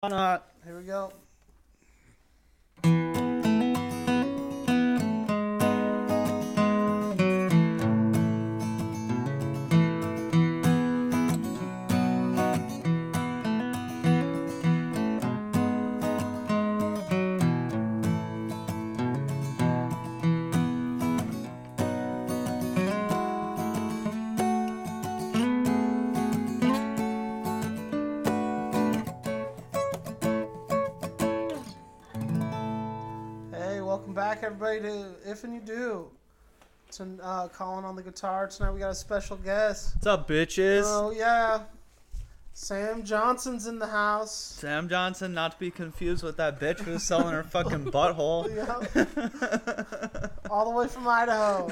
Why not? Here we go. Hey, welcome back, everybody, to If and You Do. To Colin on the guitar. Tonight we got a special guest. What's up, bitches? Oh, yeah. Sam Johnson's in the house. Sam Johnson, not to be confused with that bitch who's selling her fucking butthole. Yep. All the way from Idaho.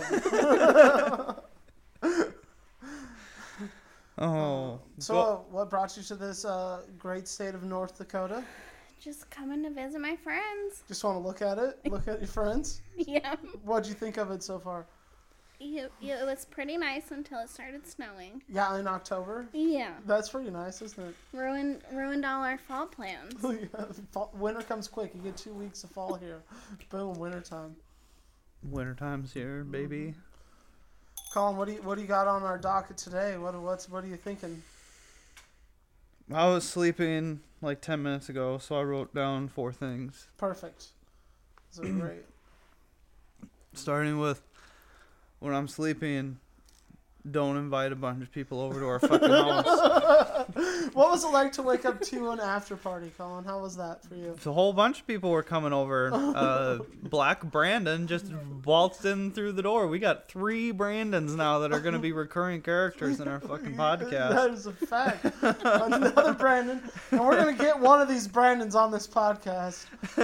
Oh. So, what brought you to this great state of North Dakota? Just coming to visit my friends. Just want to look at it? Look at your friends? Yeah. What'd you think of it so far? It was pretty nice until it started snowing. Yeah, in October? Yeah. That's pretty nice, isn't it? Ruined all our fall plans. Winter comes quick. You get 2 weeks of fall here. Boom, wintertime. Wintertime's here, baby. Colin, what do you got on our docket today? What are you thinking? I was sleeping like 10 minutes ago, so I wrote down 4 things. Perfect. So great. Starting with, when I'm sleeping, don't invite a bunch of people over to our fucking house. What was it like to wake up to an after party, Colin? How was that for you? So a whole bunch of people were coming over. Black Brandon just waltzed in through the door. We got 3 Brandons now that are going to be recurring characters in our fucking podcast. That is a fact. Another Brandon. And we're going to get one of these Brandons on this podcast.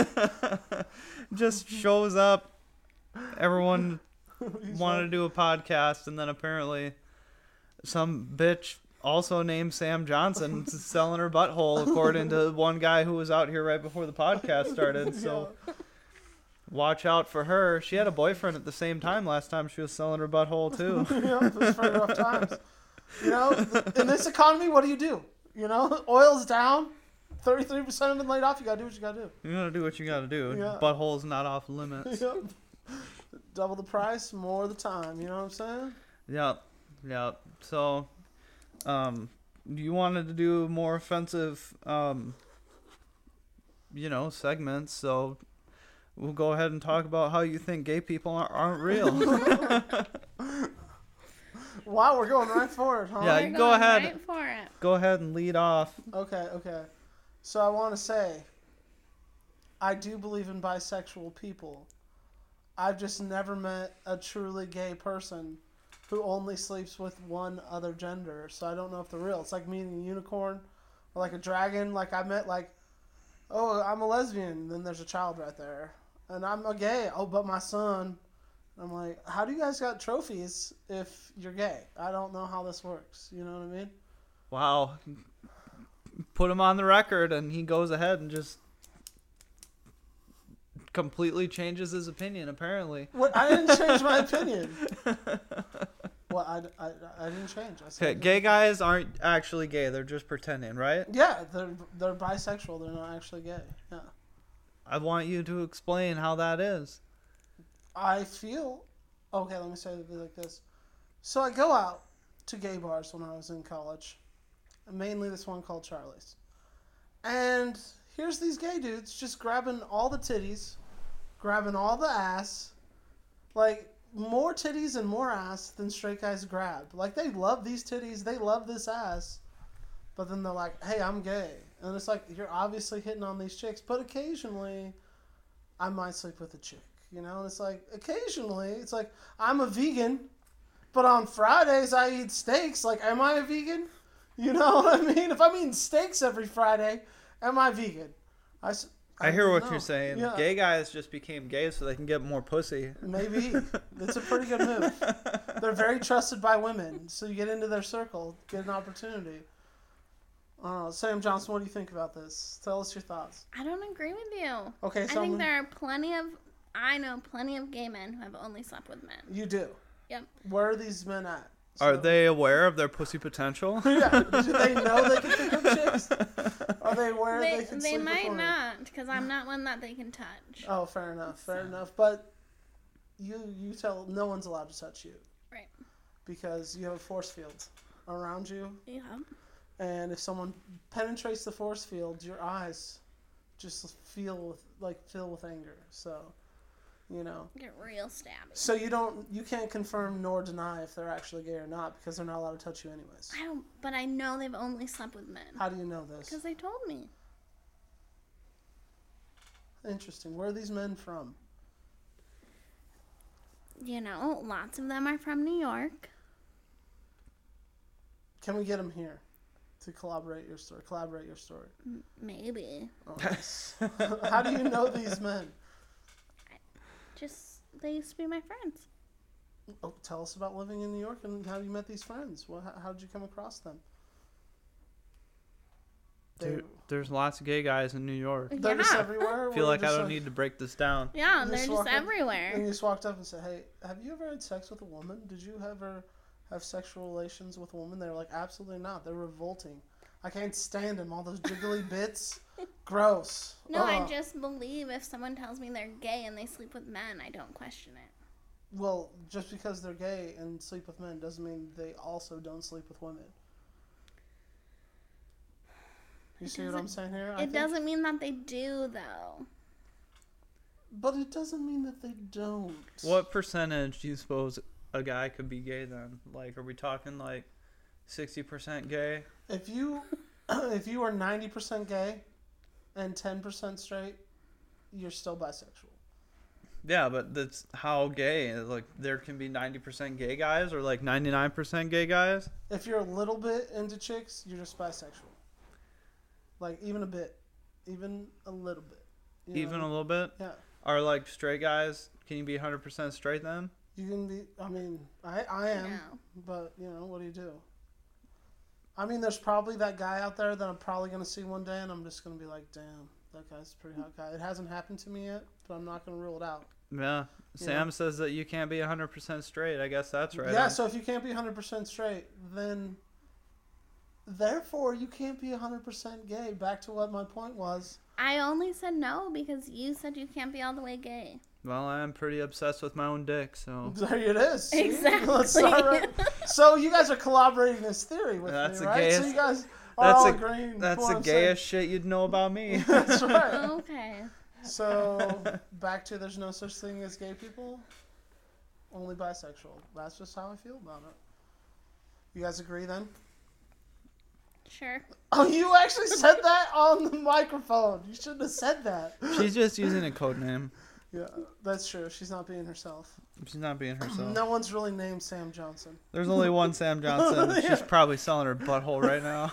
Just shows up. Everyone wanted to do a podcast, and then apparently some bitch also named Sam Johnson is selling her butthole, according to one guy who was out here right before the podcast started. So watch out for her. She had a boyfriend at the same time last time she was selling her butthole too. Yeah, it was pretty rough times. You know, in this economy, what do? You know, oil's down. 33% have been laid off. You got to do what you got to do. You gotta do what you gotta do. Yeah. Butthole's not off limits. Yep. Double the price, more of the time. You know what I'm saying? Yep. So, you wanted to do more offensive, segments. So, we'll go ahead and talk about how you think gay people aren't real. Wow, we're going right for it, huh? Yeah, We're you go going ahead. Right for it. Go ahead and lead off. Okay. So I want to say, I do believe in bisexual people. I've just never met a truly gay person who only sleeps with one other gender. So I don't know if they're real. It's like meeting a unicorn or like a dragon. Like I met oh, I'm a lesbian. Then there's a child right there. And I'm a gay. Oh, but my son. I'm like, how do you guys got trophies if you're gay? I don't know how this works. You know what I mean? Wow. Put him on the record, and he goes ahead and just completely changes his opinion, apparently. What? I didn't change my opinion. Well, I didn't change. I said Okay, gay guys aren't actually gay. They're just pretending, right? Yeah, they're bisexual. They're not actually gay. Yeah. I want you to explain how that is. I feel... Okay, let me say it like this. So I go out to gay bars when I was in college. Mainly this one called Charlie's. And here's these gay dudes just grabbing all the titties, grabbing all the ass. Like, more titties and more ass than straight guys grab. Like, they love these titties. They love this ass. But then they're like, hey, I'm gay. And it's like, you're obviously hitting on these chicks. But occasionally, I might sleep with a chick. You know? And it's like, occasionally, it's like, I'm a vegan. But on Fridays, I eat steaks. Like, am I a vegan? You know what I mean? If I'm eating steaks every Friday, am I vegan? I hear what don't you're know. saying. Yeah. Gay guys just became gay so they can get more pussy. Maybe. It's a pretty good move. They're very trusted by women, so you get into their circle, get an opportunity. Sam Johnson, what do you think about this? Tell us your thoughts. I don't agree with you. Okay, I so think I know plenty of gay men who have only slept with men. You do. Yep. Where are these men at? Are they aware of their pussy potential? Yeah. Do they know they can pick up chicks? Are they aware they can They sleep with might women? not, because I'm not one that they can touch. Oh, fair enough. But you tell no one's allowed to touch you. Right. Because you have a force field around you, Yeah. and if someone penetrates the force field, your eyes just fill with anger. So, Get real stabby. So you can't confirm nor deny if they're actually gay or not because they're not allowed to touch you anyways. But I know they've only slept with men. How do you know this? Because they told me. Interesting. Where are these men from? Lots of them are from New York. Can we get them here to collaborate your story? Maybe. Oh, yes. How do you know these men? They used to be my friends. Oh, tell us about living in New York and how you met these friends. How did you come across them? There's lots of gay guys in New York. They're just everywhere. I feel like I don't need to break this down. Yeah, they're just everywhere. And you just walked up and said, "Hey, have you ever had sex with a woman? Did you ever have sexual relations with a woman?" They're like, "Absolutely not. They're revolting. I can't stand them. All those jiggly bits. Gross." No, I just believe if someone tells me they're gay and they sleep with men, I don't question it. Well, just because they're gay and sleep with men doesn't mean they also don't sleep with women. You see what I'm saying here? It doesn't mean that they do, though. But it doesn't mean that they don't. What percentage do you suppose a guy could be gay then? Like, are we talking like 60% gay? If you are 90% gay and 10% straight, you're still bisexual. Yeah, but that's how gay. Like, there can be 90% gay guys or like 99% gay guys. If you're a little bit into chicks, you're just bisexual. Like, even a bit. Even a little bit. Even a little bit? Yeah. Are like straight guys, can you be 100% straight then? You can be, I am. No. But, what do you do? I mean, there's probably that guy out there that I'm probably going to see one day, and I'm just going to be like, damn, that guy's a pretty hot guy. It hasn't happened to me yet, but I'm not going to rule it out. Yeah. Sam says that you can't be 100% straight. I guess that's right. Yeah, so if you can't be 100% straight, then therefore you can't be 100% gay. Back to what my point was. I only said no because you said you can't be all the way gay. Well, I'm pretty obsessed with my own dick, so. There it is. See? Exactly. So you guys are collaborating this theory with That's me, the right? gayest, So you guys are all agreeing. That's the gayest shit you'd know about me. That's right. Okay. So, back to there's no such thing as gay people, only bisexual. That's just how I feel about it. You guys agree then? Sure. Oh, you actually said that on the microphone. You shouldn't have said that. She's just using a code name. Yeah, that's true. She's not being herself. She's not being herself. No one's really named Sam Johnson. There's only one Sam Johnson. Yeah. She's probably selling her butthole right now.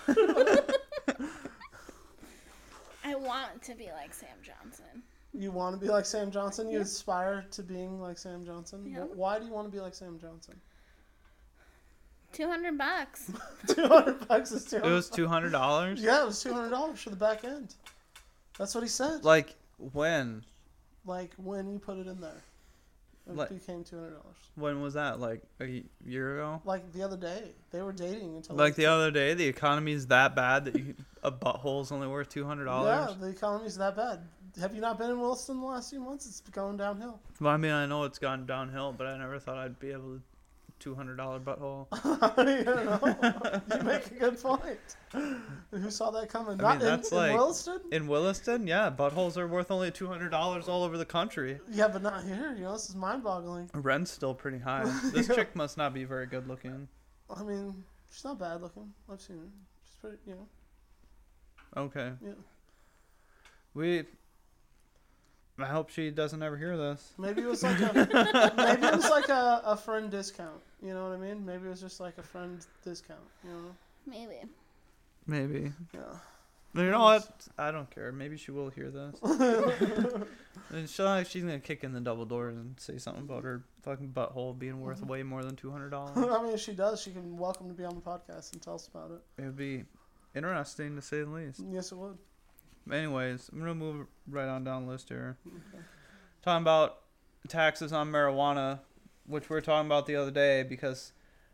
I want to be like Sam Johnson. You want to be like Sam Johnson? You aspire to being like Sam Johnson? Yeah. Why do you want to be like Sam Johnson? $200. $200 is $200. It was $200? Yeah, it was $200 for the back end. That's what he said. Like, when? Like when you put it in there. It became $200. When was that? Like a year ago? Like the other day. They were dating until... Like the other day? The economy's that bad that a butthole's only worth $200? Yeah, the economy's that bad. Have you not been in Williston the last few months? It's going downhill. Well, I mean, I know it's gone downhill, but I never thought I'd be able to... $200 butthole. You make a good point. Who saw that coming? I mean, that's in like Williston? In Williston, yeah, buttholes are worth only $200 all over the country. Yeah, but not here. This is mind-boggling. Rent's still pretty high. This chick must not be very good looking. I mean, she's not bad looking. I've seen her. She's pretty, Okay. Yeah. I hope she doesn't ever hear this. Maybe it was like a friend discount. You know what I mean? Maybe it was just like a friend discount. Maybe. Yeah. You know what? I don't care. Maybe she will hear this. And she's gonna kick in the double doors and say something about her fucking butthole being worth way more than $200. I mean, if she does, she can welcome to be on the podcast and tell us about it. It would be interesting to say the least. Yes, it would. Anyways, I'm gonna move right on down the list here. Okay. Talking about taxes on marijuana, which we were talking about the other day, because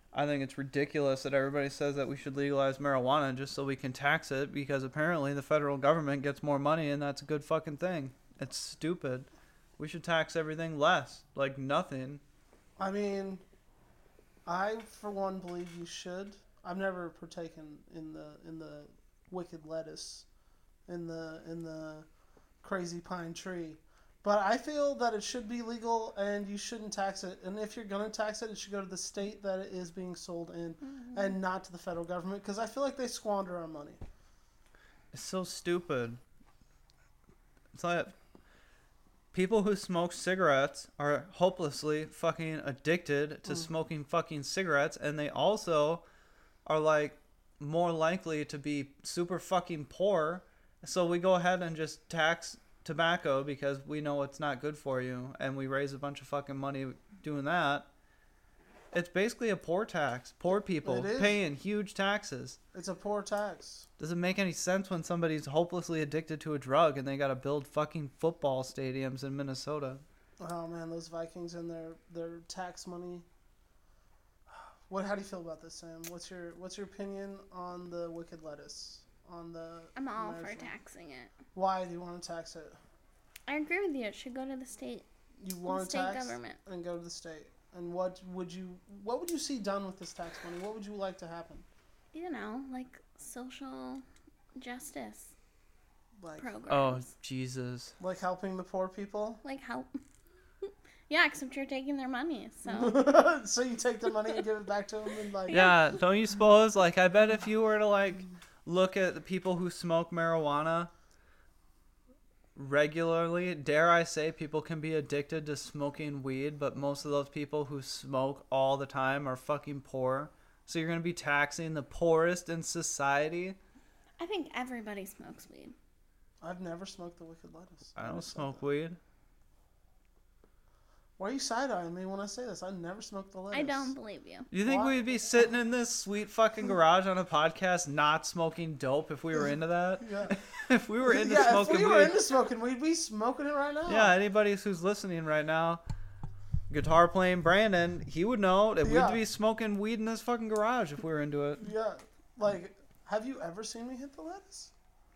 I think it's ridiculous that everybody says that we should legalize marijuana just so we can tax it, because apparently the federal government gets more money and that's a good fucking thing. It's stupid. We should tax everything less, like nothing. I mean, I for one believe you should. I've never partaken in the wicked lettuce, in the crazy pine tree, but I feel that it should be legal and you shouldn't tax it. And if you're gonna tax it, it should go to the state that it is being sold in, and not to the federal government, because I feel like they squander our money. It's so stupid. It's like people who smoke cigarettes are hopelessly fucking addicted to smoking fucking cigarettes, and they also are like more likely to be super fucking poor. So we go ahead and just tax tobacco because we know it's not good for you, and we raise a bunch of fucking money doing that. It's basically a poor tax. Poor people paying huge taxes. It's a poor tax. Doesn't make any sense when somebody's hopelessly addicted to a drug and they gotta build fucking football stadiums in Minnesota. Oh man, those Vikings and their tax money. How do you feel about this, Sam? What's your opinion on the wicked lettuce? I'm all for taxing it. Why do you want to tax it? I agree with you. It should go to the state. You want to tax government and go to the state. And what would you see done with this tax money? What would you like to happen? You know, like social justice programs. Oh, Jesus. Like helping the poor people? Like help. Yeah, except you're taking their money, so. So you take the money and give it back to them and like. Yeah, don't you suppose? Like, I bet if you were to like look at the people who smoke marijuana regularly, dare I say, people can be addicted to smoking weed, but most of those people who smoke all the time are fucking poor. So you're gonna be taxing the poorest in society? I think everybody smokes weed. I've never smoked the wicked lettuce. I don't smoke weed. Why are you side-eyeing me when I say this? I never smoked the lettuce. I don't believe you. You think we'd be sitting in this sweet fucking garage on a podcast not smoking dope if we were into that? Yeah. If we were into if smoking we weed. were into smoking, we'd be smoking it right now. Yeah, anybody who's listening right now, guitar playing Brandon, he would know that we'd be smoking weed in this fucking garage if we were into it. Yeah. Like, have you ever seen me hit the lettuce?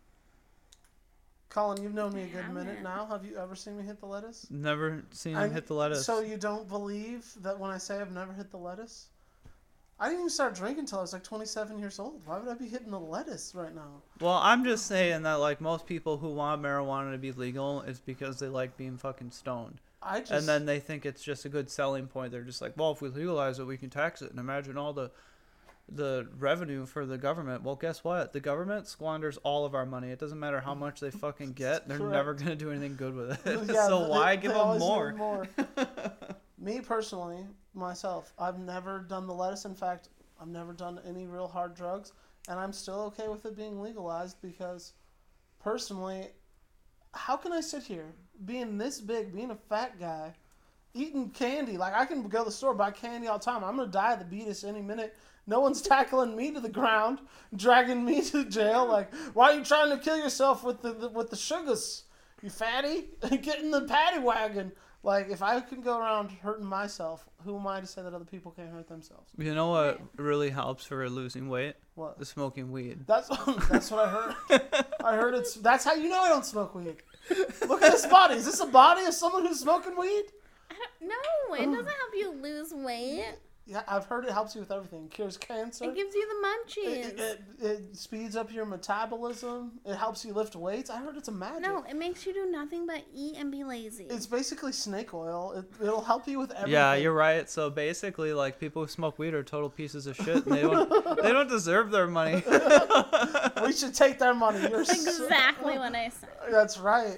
Colin, you've known me a good minute now. Have you ever seen me hit the lettuce? Never seen him hit the lettuce. So you don't believe that when I say I've never hit the lettuce? I didn't even start drinking until I was like 27 years old. Why would I be hitting the lettuce right now? Well, I'm just saying that like most people who want marijuana to be legal is because they like being fucking stoned. And then they think it's just a good selling point. They're just like, well, if we legalize it, we can tax it. And imagine all the revenue for the government. Well, guess what? The government squanders all of our money. It doesn't matter how much they fucking get. They're never going to do anything good with it. Yeah, so why give them more? Me personally, myself, I've never done the lettuce. In fact, I've never done any real hard drugs. And I'm still okay with it being legalized because, personally, how can I sit here, being this big, being a fat guy, eating candy? Like, I can go to the store, buy candy all the time. I'm going to die of the beatus any minute. No one's tackling me to the ground, dragging me to jail. Like, why are you trying to kill yourself with the sugars, you fatty? Get in the paddy wagon. Like, if I can go around hurting myself, who am I to say that other people can't hurt themselves? You know what really helps for losing weight? What? The smoking weed. That's what I heard. I heard that's how you know I don't smoke weed. Look at this body. Is this a body of someone who's smoking weed? No, it doesn't help you lose weight. Yeah, I've heard it helps you with everything. It cures cancer. It gives you the munchies. It speeds up your metabolism. It helps you lift weights. I heard it's a magic. No, it makes you do nothing but eat and be lazy. It's basically snake oil. It'll help you with everything. Yeah, you're right. So basically, like, people who smoke weed are total pieces of shit, and they don't deserve their money. We should take their money. Exactly what I said. That's right.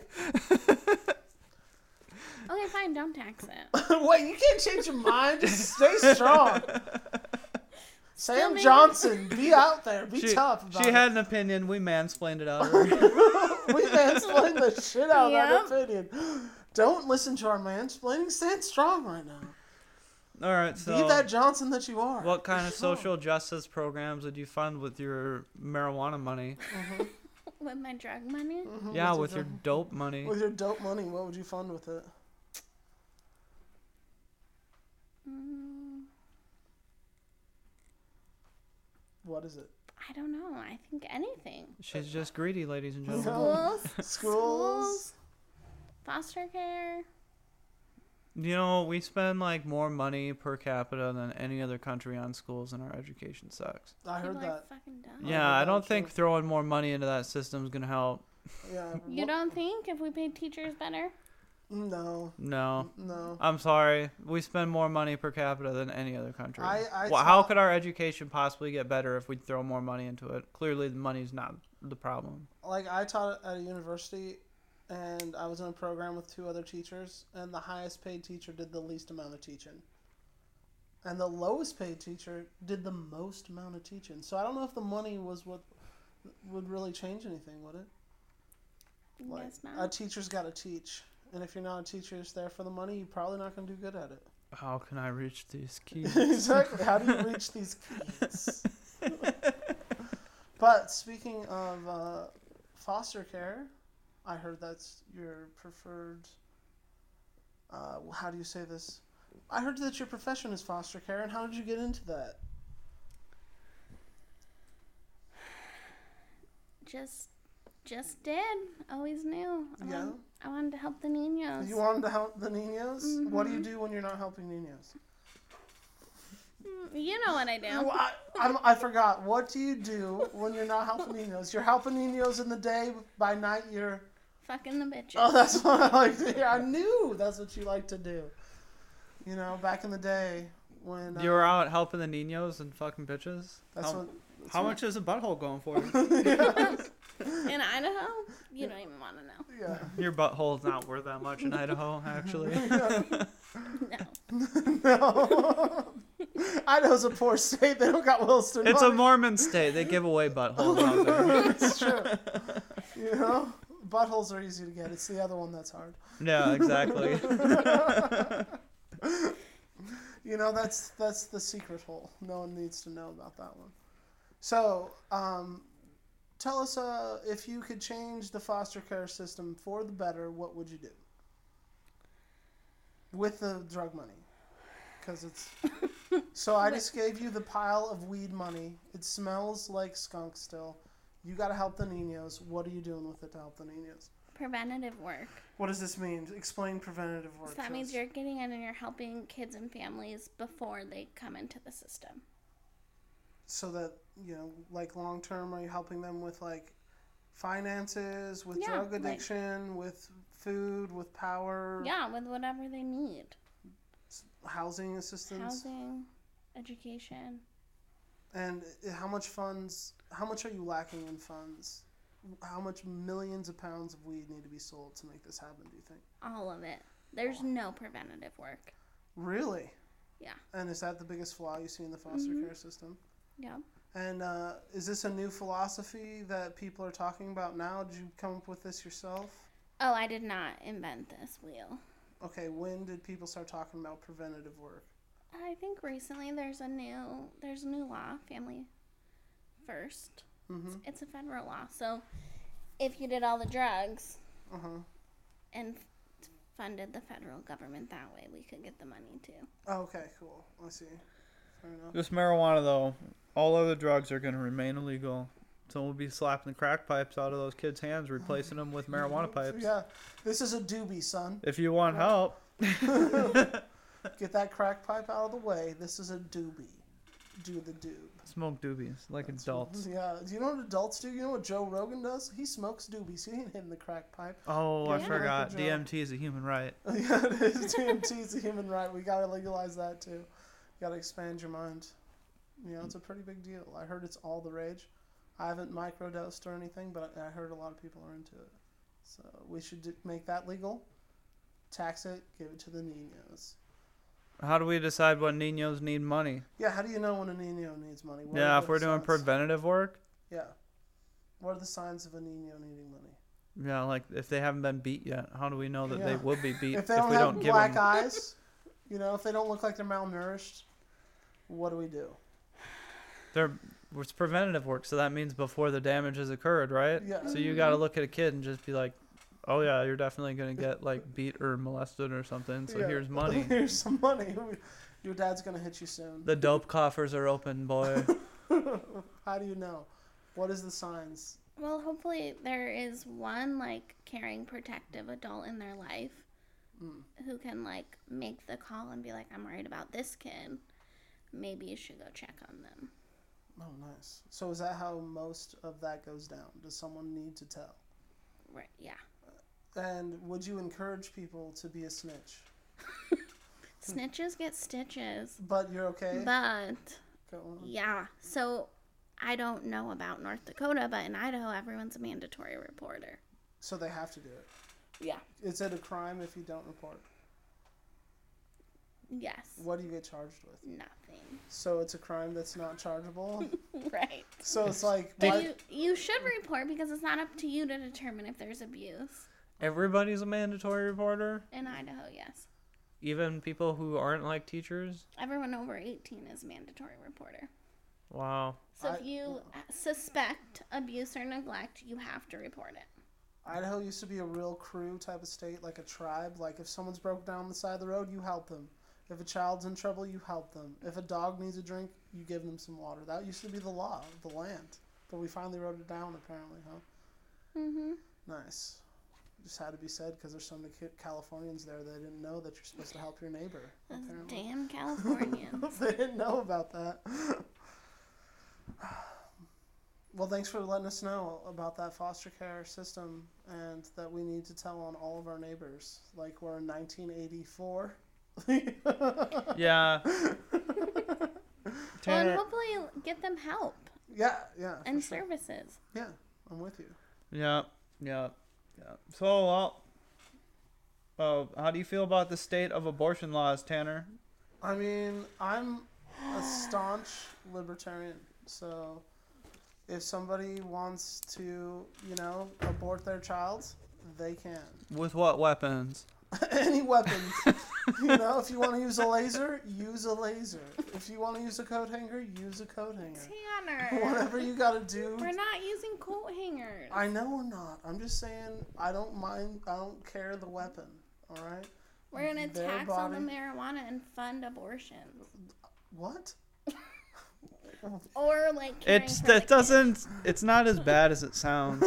Okay, fine, don't tax it. Wait, you can't change your mind. Just stay strong. Sam Johnson, be out there. Be tough about it. She had an opinion. We mansplained it out of her. We mansplained the shit out of that opinion. Don't listen to our mansplaining. Stand strong right now. All right, so be that Johnson that you are. What kind of social justice programs would you fund with your marijuana money? With my drug money? Yeah, with your dope money. With your dope money, what would you fund with it? What is it? I don't know. I think anything. She's just greedy, ladies and gentlemen. Schools. Foster care. You know, we spend like more money per capita than any other country on schools, and our education sucks. I heard People are that. fucking dumb. Yeah, I don't think throwing more money into that system is gonna help. Yeah. You don't think if we paid teachers better? No. No. No. I'm sorry. We spend more money per capita than any other country. I Well, how could our education possibly get better if we throw more money into it? Clearly, the money's not the problem. Like, I taught at a university, and I was in a program with 2 other teachers, and the highest paid teacher did the least amount of teaching. And the lowest paid teacher did the most amount of teaching. So I don't know if the money was what would really change anything, would it? Like, Guess a not. teacher's got to teach. And if you're not a teacher who's there for the money, you're probably not going to do good at it. How can I reach these kids? Exactly. How do you reach these kids? But speaking of foster care, I heard that's your preferred. How do you say this? I heard that your profession is foster care, and how did you get into that? Just did. Always knew. Yeah. I wanted to help the niños. You wanted to help the niños? Mm-hmm. What do you do when you're not helping niños? You know what I do. Well, I forgot. What do you do when you're not helping niños? You're helping niños in the day. By night, you're. Fucking the bitches. Oh, that's what I like to hear. I knew that's what you like to do. You know, back in the day when You were out helping the niños and fucking bitches? That's How much is a butthole going for? In Idaho? You don't even want to know. Yeah. Your butthole's not worth that much in Idaho, actually. No. No. Idaho's a poor state. They don't got Wilson. It's a money. Mormon state. They give away buttholes out there. It's true. You know, buttholes are easy to get. It's the other one that's hard. Yeah, exactly. You know, that's the secret hole. No one needs to know about that one. So, tell us, if you could change the foster care system for the better, what would you do? With the drug money. Because it's... So I just gave you the pile of weed money. It smells like skunk still. You got to help the niños. What are you doing with it to help the niños? Preventative work. What does this mean? Explain preventative work. So that means you're getting in and you're helping kids and families before they come into the system. So that, you know, like long term, are you helping them with like finances, with drug addiction, with food, with power? Yeah, with whatever they need. Housing assistance? Housing, education. And how much are you lacking in funds? How much millions of pounds of weed need to be sold to make this happen, do you think? All of it. There's no preventative work. Really? Yeah. And is that the biggest flaw you see in the foster care system? Yeah. And is this a new philosophy that people are talking about now? Did you come up with this yourself? Oh, I did not invent this wheel. Okay, when did people start talking about preventative work? I think recently there's a new law, Family First. Mm-hmm. It's a federal law. So if you did all the drugs and funded the federal government that way, we could get the money too. Oh, okay, cool. I see. Fair enough. This marijuana, though, all other drugs are going to remain illegal. So we'll be slapping the crack pipes out of those kids' hands, replacing them with marijuana pipes. Yeah, this is a doobie, son. If you want help. Get that crack pipe out of the way. This is a doobie. Do the doob. Smoke doobies, like adults. Yeah. Do you know what adults do? You know what Joe Rogan does? He smokes doobies. He ain't hitting the crack pipe. Oh, I Yeah. forgot. Good job. DMT is a human right. Yeah, it is. DMT is a human right. We gotta legalize that too. You gotta expand your mind. You know, it's a pretty big deal. I heard it's all the rage. I haven't microdosed or anything, but I heard a lot of people are into it. So we should make that legal. Tax it. Give it to the niños. How do we decide when niños need money? Yeah, how do you know when a niño needs money? What Yeah, are if the we're doing signs? preventative work. Yeah. What are the signs of a niño needing money? Yeah, like if they haven't been beat yet, how do we know that Yeah. they will be beat If they if don't we have don't give black them? eyes, you know, if they don't look like they're malnourished, what do we do? It's preventative work, so that means before the damage has occurred, right? Yeah. So you got to look at a kid and just be like, "Oh yeah, you're definitely gonna get like beat or molested or something. So Yeah. here's money. Here's some money. Your dad's gonna hit you soon. The dope coffers are open, boy." How do you know? What is the signs? Well, hopefully there is one, like, caring, protective adult in their life who can, like, make the call and be like, I'm worried about this kid. Maybe you should go check on them. Oh, nice. So is that how most of that goes down? Does someone need to tell? Right, yeah. And would you encourage people to be a snitch? Snitches get stitches. But you're okay? But, Go on. yeah. So, I don't know about North Dakota, but in Idaho, everyone's a mandatory reporter. So they have to do it? Yeah. Is it a crime if you don't report? Yes. What do you get charged with? Nothing. So it's a crime that's not chargeable? Right. So it's like... But you should report because it's not up to you to determine if there's abuse. Everybody's a mandatory reporter? In Idaho, yes. Even people who aren't like teachers? Everyone over 18 is mandatory reporter. Wow. So if you suspect abuse or neglect, you have to report it. Idaho used to be a real crew type of state, like a tribe. Like if someone's broke down the side of the road, you help them. If a child's in trouble, you help them. If a dog needs a drink, you give them some water. That used to be the law of the land. But we finally wrote it down, apparently, huh? Mm-hmm. Nice. Just had to be said because there's so many Californians there that didn't know that you're supposed to help your neighbor. Those Apparently. damn Californians. They didn't know about that. Well, thanks for letting us know about that foster care system and that we need to tell on all of our neighbors. Like we're in 1984. Yeah. Well, and hopefully get them help Yeah. and for sure. services. Yeah, I'm with you. Yeah. So, how do you feel about the state of abortion laws, Tanner? I mean, I'm a staunch libertarian, so if somebody wants to, abort their child, they can. With what weapons? Any weapons. If you want to use a laser, use a laser. If you want to use a coat hanger, use a coat hanger. Tanner. Whatever you got to do. We're not using coat hangers. I know we're not. I'm just saying I don't mind. I don't care the weapon. All right? We're going to Their tax all the body- marijuana and fund abortions. What? Or like caring for the kid. It's not as bad as it sounds.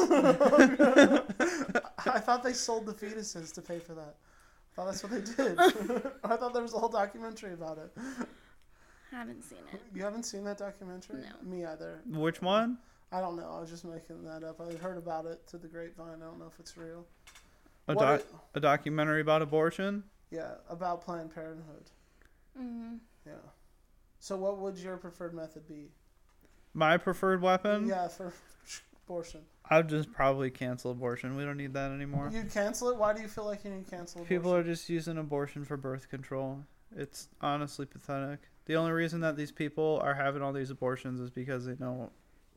I thought they sold the fetuses to pay for that. I thought that's what they did. I thought there was a whole documentary about it. Haven't seen it. You haven't seen that documentary? No. Me either. Which one? I don't know. I was just making that up. I heard about it to the grapevine. I don't know if it's real. A documentary about abortion? Yeah, about Planned Parenthood. Mm-hmm. Yeah. So what would your preferred method be? My preferred weapon? Yeah, for abortion. I'd just probably cancel abortion. We don't need that anymore. You'd cancel it? Why do you feel like you need to cancel abortion? People are just using abortion for birth control. It's honestly pathetic. The only reason that these people are having all these abortions is because they know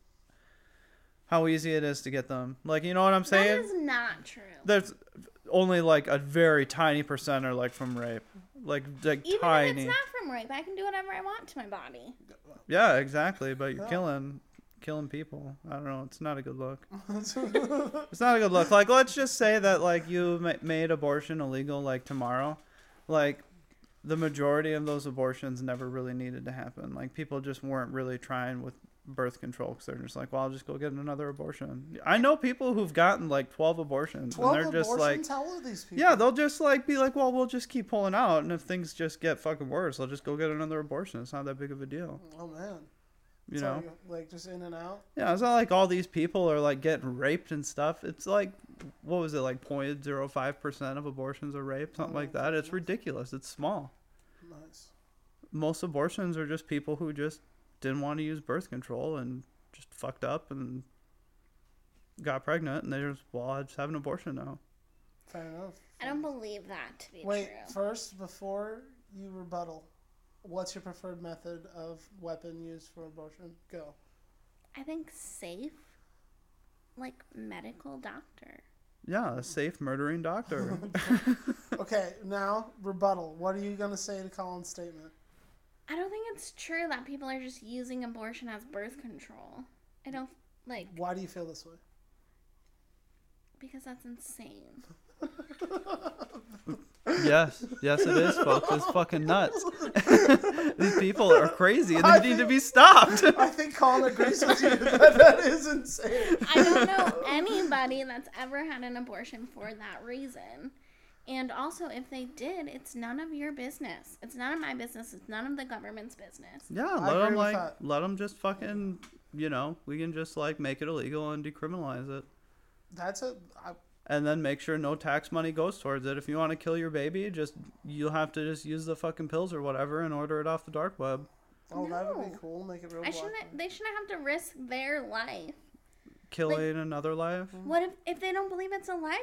how easy it is to get them. Like, you know what I'm saying? That is not true. There's only like a very tiny percent are like from rape. Like Even tiny. if it's not from rape, I can do whatever I want to my body. Yeah, exactly. But you're Yeah. killing people. I don't know. It's not a good look. It's not a good look. Like, let's just say that like you made abortion illegal like tomorrow. Like, the majority of those abortions never really needed to happen. Like, people just weren't really trying with birth control because they're just like, well, I'll just go get another abortion. I know people who've gotten like 12 abortions 12 and they're just abortions? like, How old are these people? yeah, they'll just like be like, well, we'll just keep pulling out, and if things just get fucking worse, I'll just go get another abortion. It's not that big of a deal, Oh, man. you So, know? like, just in and out? Yeah, it's not like all these people are like getting raped and stuff. It's like, what was it, like 0.05% of abortions are rape, something like that. It's ridiculous. It's small. Nice. Most abortions are just people who just didn't want to use birth control and just fucked up and got pregnant, and they just, well, I just have an abortion now. Fair enough. I don't believe that to be Wait, true. first, before you rebuttal, what's your preferred method of weapon used for abortion? Go. I think safe, like medical doctor. Yeah, a safe murdering doctor. Okay, now, rebuttal. What are you going to say to Colin's statement? I don't think it's true that people are just using abortion as birth control. I don't, like, Why do you feel this way? because that's insane. Yes, it is, folks. It's fucking nuts. These people are crazy and I they need to think- be stopped. I think Colin agrees with you that is insane. I don't know anybody that's ever had an abortion for that reason. And also, if they did, it's none of your business. It's none of my business. It's none of the government's business. Yeah, agree with that. let them just fucking, we can just like make it illegal and decriminalize it. That's a. And then make sure no tax money goes towards it. If you want to kill your baby, you'll have to just use the fucking pills or whatever and order it off the dark web. Oh, that would be No. cool. Make it real. They shouldn't have to risk their life. Killing another life. What if they don't believe it's a life?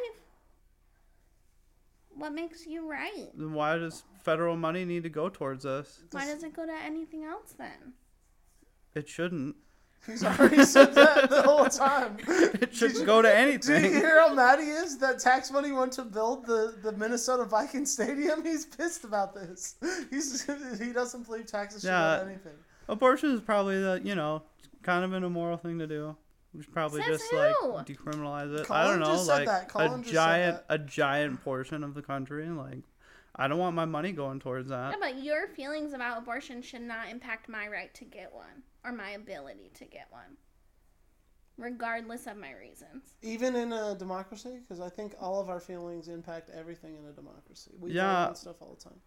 What makes you right? Then why does federal money need to go towards this? Why does it go to anything else then? It shouldn't. He's already said that the whole time. It should go to Did you anything. hear how mad he is that tax money went to build the Minnesota Viking Stadium? He's pissed about this. He doesn't believe taxes should go to anything. Abortion is probably the, kind of an immoral thing to do. We should probably Says just who? like decriminalize it. I Colin don't know, just said like that. Colin just said a giant portion of the country. Like, I don't want my money going towards that. Yeah, but your feelings about abortion should not impact my right to get one or my ability to get one, regardless of my reasons. Even in a democracy, because I think all of our feelings impact everything in a democracy. We Yeah. vote on stuff all the time.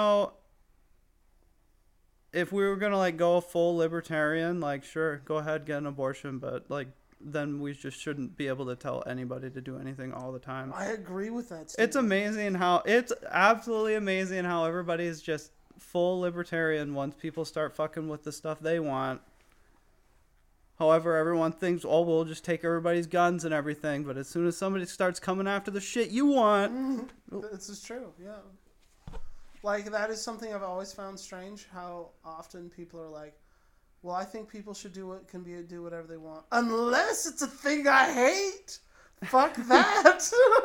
If we were gonna like go full libertarian, like sure, go ahead, get an abortion, but like then we just shouldn't be able to tell anybody to do anything all the time. I agree with that. It's absolutely amazing how everybody's just full libertarian once people start fucking with the stuff they want. However, everyone thinks, oh, we'll just take everybody's guns and everything, but as soon as somebody starts coming after the shit you want, This is true, yeah. Like, that is something I've always found strange, how often people are like, well, I think people should do whatever they want. Unless it's a thing I hate! Fuck that!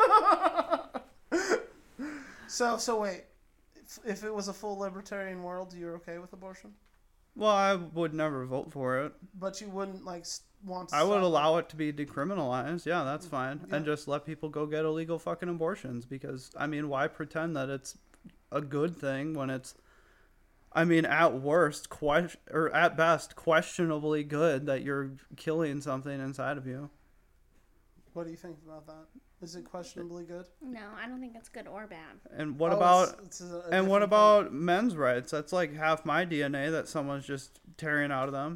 So wait. If it was a full libertarian world, you're okay with abortion? well, I would never vote for it. But you wouldn't, like, want to I would stop allow it to be decriminalized. Yeah, that's fine. Yeah. And just let people go get illegal fucking abortions because, why pretend that it's a good thing when it's, at worst, or at best, questionably good that you're killing something inside of you. What do you think about that? Is it questionably good? No, I don't think it's good or bad. And what Oh, about it's a and what different about men's rights? That's like half my DNA that someone's just tearing out of them.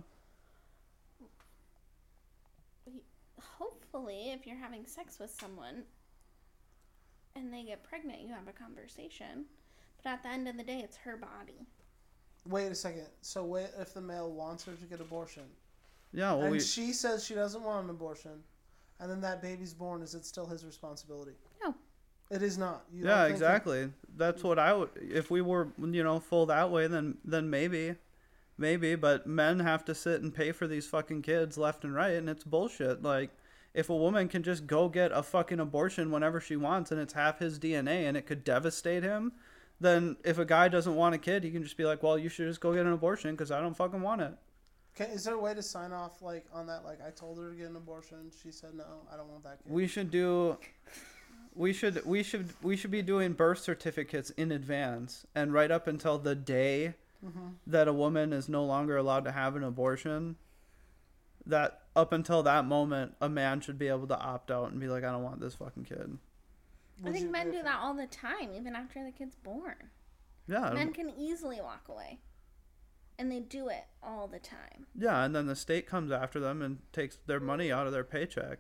Hopefully, if you're having sex with someone and they get pregnant, you have a conversation. But at the end of the day, it's her body. thing. Wait a second. So wait, if the male wants her to get abortion, Yeah, well, and she says she doesn't want an abortion, and then that baby's born, is it still his responsibility? No. It is not. You don't yeah, think exactly. That's what I would. If we were, full that way, then maybe. But men have to sit and pay for these fucking kids left and right, and it's bullshit. Like, if a woman can just go get a fucking abortion whenever she wants, and it's half his DNA, and it could devastate him, then if a guy doesn't want a kid, he can just be like, well, you should just go get an abortion because I don't fucking want it. is there a way to sign off like on that? Like, I told her to get an abortion. She said no. I don't want that kid. We should be doing birth certificates in advance, and right up until the day that a woman is no longer allowed to have an abortion, that up until that moment, a man should be able to opt out and be like, I don't want this fucking kid. I think men do that all the time, even after the kid's born. Yeah. Men can easily walk away. And they do it all the time. Yeah, and then the state comes after them and takes their money out of their paycheck.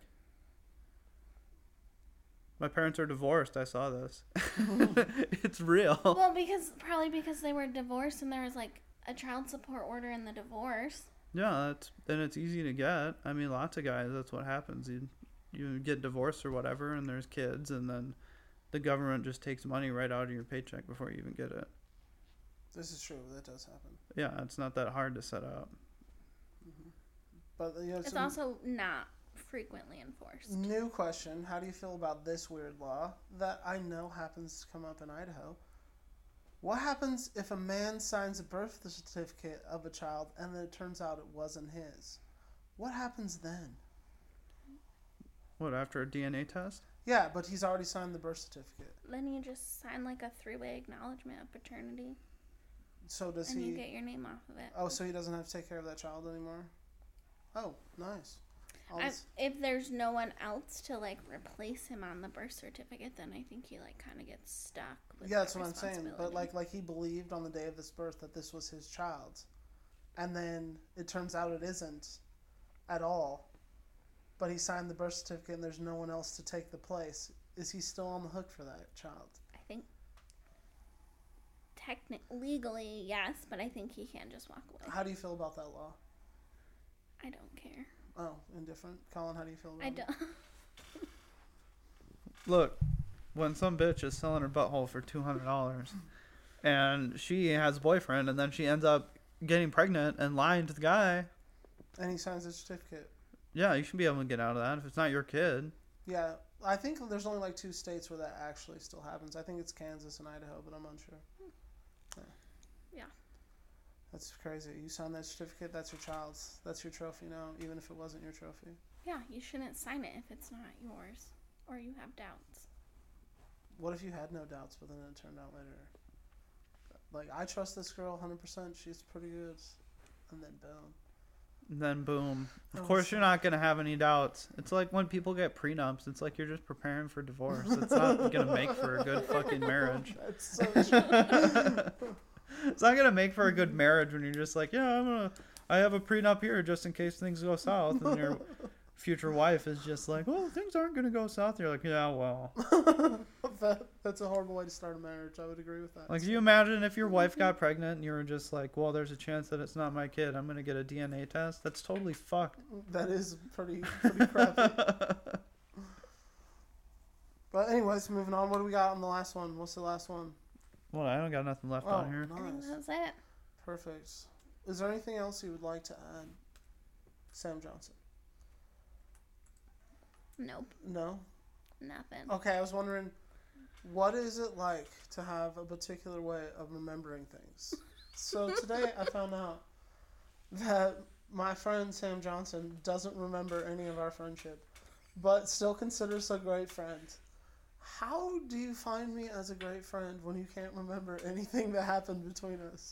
My parents are divorced. I saw this. It's real. Well, probably because they were divorced and there was like a child support order in the divorce. Yeah, it's easy to get. Lots of guys, that's what happens. You get divorced or whatever, and there's kids, and then the government just takes money right out of your paycheck before you even get it. This is true. That does happen. Yeah, it's not that hard to set up. But It's also not frequently enforced. New question. How do you feel about this weird law that I know happens to come up in Idaho? What happens if a man signs a birth certificate of a child and then it turns out it wasn't his? What happens then? What, after a DNA test? Yeah, but he's already signed the birth certificate. Then you just sign like a 3-way acknowledgement of paternity. So does and he? you get your name off of it. Oh, so he doesn't have to take care of that child anymore? Oh, nice. If there's no one else to like replace him on the birth certificate, then I think he like kind of gets stuck with Yeah, that's that what I'm saying. But responsibility. like he believed on the day of this birth that this was his child, and then it turns out it isn't at all. But he signed the birth certificate, and there's no one else to take the place. Is he still on the hook for that child? I think legally, yes, but I think he can just walk away. How do you feel about that law? I don't care. Oh, indifferent. Colin, how do you feel about I it? don't. Look, when some bitch is selling her butthole for $200 and she has a boyfriend and then she ends up getting pregnant and lying to the guy, And he signs a certificate. yeah, you should be able to get out of that if it's not your kid. Yeah, I think there's only like 2 states where that actually still happens. I think it's Kansas and Idaho, but I'm unsure. Yeah. That's crazy. You sign that certificate, that's your child's. That's your trophy now, even if it wasn't your trophy. Yeah, you shouldn't sign it if it's not yours or you have doubts. What if you had no doubts, but then it turned out later? Like, I trust this girl 100%. She's pretty good. And then boom. And then boom. Of Oh, course, you're not going to have any doubts. It's like when people get prenups. It's like you're just preparing for divorce. It's not going to make for a good fucking marriage. That's so true. It's not going to make for a good marriage when you're just like, yeah, I have a prenup here just in case things go south. And your future wife is just like, well, things aren't going to go south. You're like, yeah, well. That's a horrible way to start a marriage. I would agree with that. Like, can you imagine if your wife got pregnant and you were just like, well, there's a chance that it's not my kid. I'm going to get a DNA test. That's totally fucked. That is pretty crappy. But anyways, moving on. What do we got on the last one? What's the last one? Well, I don't got nothing left on here. I think Nice. that's it. Perfect. Is there anything else you would like to add, Sam Johnson? Nope, No? nothing. Okay, I was wondering, what is it like to have a particular way of remembering things? So today I found out that my friend Sam Johnson doesn't remember any of our friendship, but still considers a great friend. How do you find me as a great friend when you can't remember anything that happened between us?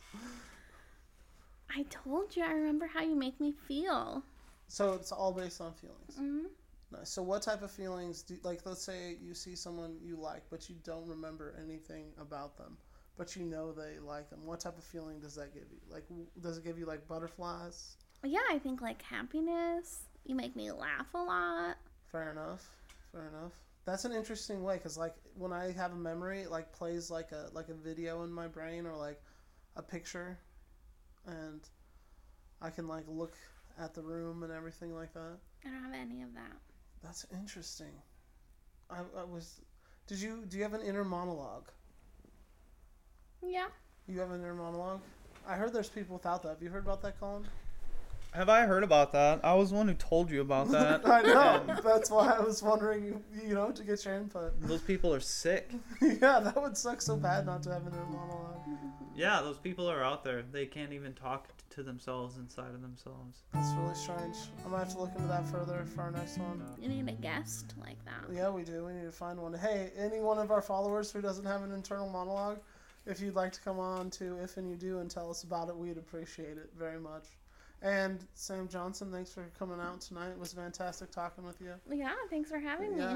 I told you I remember how you make me feel. So it's all based on feelings. Hmm. Nice. So what type of feelings do, like, let's say you see someone you like, but you don't remember anything about them, but you know they like them. What type of feeling does that give you? Like, does it give you like butterflies? Yeah, I think like happiness. You make me laugh a lot. Fair enough. Fair enough. That's an interesting way, because like when I have a memory, it like plays like a video in my brain, or like a picture, and I can like look at the room and everything like that. I don't have any of that. That's interesting. I was. Do you have an inner monologue? Yeah. You have an inner monologue? I heard there's people without that. Have you heard about that, Colin? Have I heard about that? I was the one who told you about that. I know. That's why I was wondering, to get your input. Those people are sick. Yeah, that would suck so bad not to have an inner monologue. Yeah, those people are out there. They can't even talk to themselves inside of themselves. That's really strange. I'm going to have to look into that further for our next one. You need a guest like that. Yeah, we do. We need to find one. Hey, any one of our followers who doesn't have an internal monologue, if you'd like to come on to If and You Do and tell us about it, we'd appreciate it very much. And Sam Johnson, thanks for coming out tonight. It was fantastic talking with you. Yeah, thanks for having me. Yeah.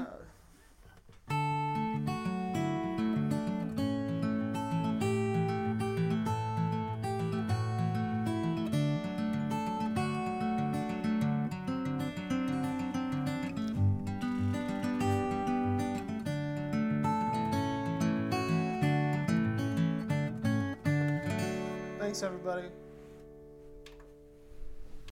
Thanks, everybody.